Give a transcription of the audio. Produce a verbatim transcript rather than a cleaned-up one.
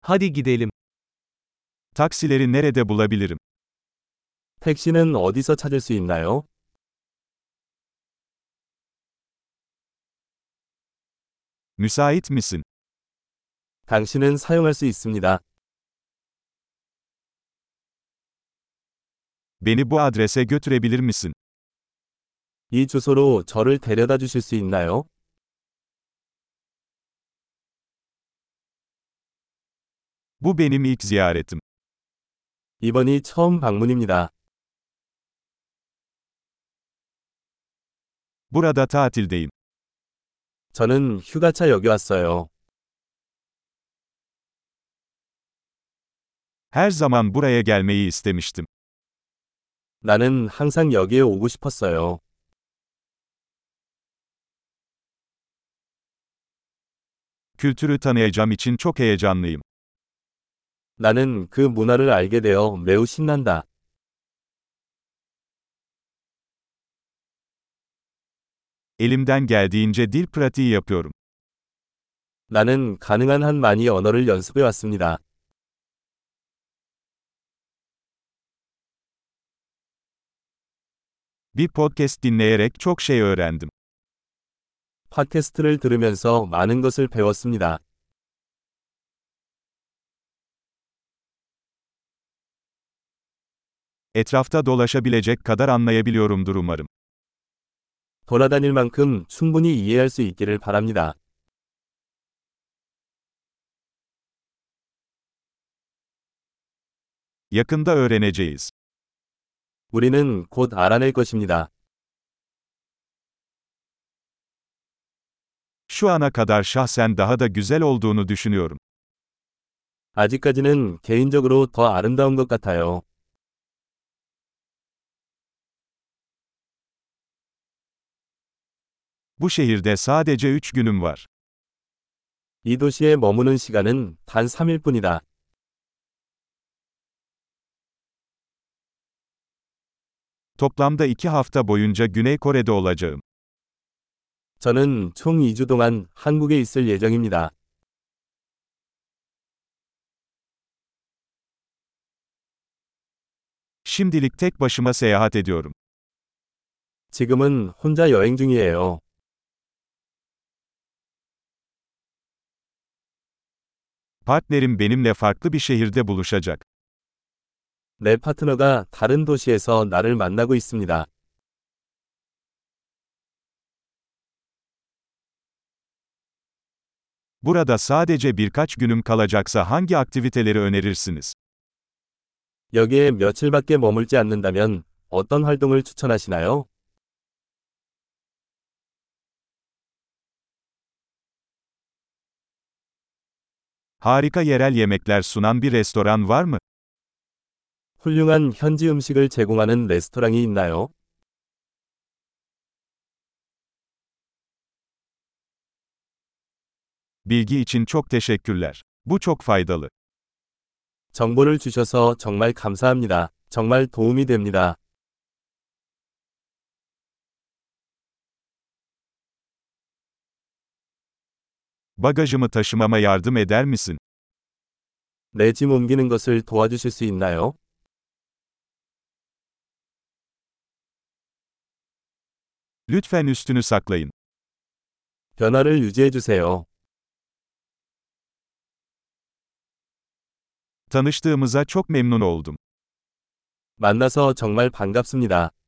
Hadi gidelim. Taksileri nerede bulabilirim? 택시는 어디서 찾을 수 있나요? Müsait misin? 당신은 사용할 수 있습니다. Beni bu adrese götürebilir misin? 이 주소로 저를 데려다 주실 수 있나요? Bu benim ilk ziyaretim. 이번이 처음 방문입니다. Burada tatildeyim. 저는 휴가차 여기 왔어요. Her zaman buraya gelmeyi istemiştim. 나는 항상 여기에 오고 싶었어요. Kültürü tanıyacağım için çok heyecanlıyım. 나는 그 문화를 알게 되어 매우 신난다. Elimden geldiğince dil pratiği yapıyorum. 나는 가능한 한 많이 언어를 연습해 왔습니다. Bir podcast dinleyerek çok şey öğrendim. 팟캐스트를 들으면서 많은 것을 배웠습니다. Etrafta dolaşabilecek kadar anlayabiliyorumdur umarım. 돌아다닐 만큼 충분히 이해할 수 있기를 바랍니다. Yakında öğreneceğiz. 우리는 곧 알아낼 것입니다. Şu ana kadar şahsen daha da güzel olduğunu düşünüyorum. 아직까지는 개인적으로 더 아름다운 것 같아요. Bu şehirde sadece üç günüm var. 이 도시에 머무는 시간은 단 삼 일뿐이다. Toplamda iki hafta boyunca Güney Kore'de olacağım. 저는 총 이 주 동안 한국에 있을 예정입니다. Şimdilik tek başıma seyahat ediyorum. 지금은 혼자 여행 중이에요. Partnerim benimle farklı bir şehirde buluşacak. 내 파트너가 다른 도시에서 나를 만나고 있습니다. Burada sadece birkaç günüm kalacaksa hangi aktiviteleri önerirsiniz? 여기에 며칠밖에 머물지 않는다면 어떤 활동을 추천하시나요? Harika yerel yemekler sunan bir restoran var mı? 훌륭한 현지 음식을 제공하는 레스토랑이 있나요? Bilgi için çok teşekkürler. Bu çok faydalı. 정보를 주셔서 정말 감사합니다. 정말 도움이 됩니다. Bagajımı taşımama yardım eder misin? 내 짐 옮기는 것을 도와주실 수 있나요? Lütfen üstünü saklayın. 변화를 유지해 주세요. Tanıştığımıza çok memnun oldum. 만나서 정말 반갑습니다.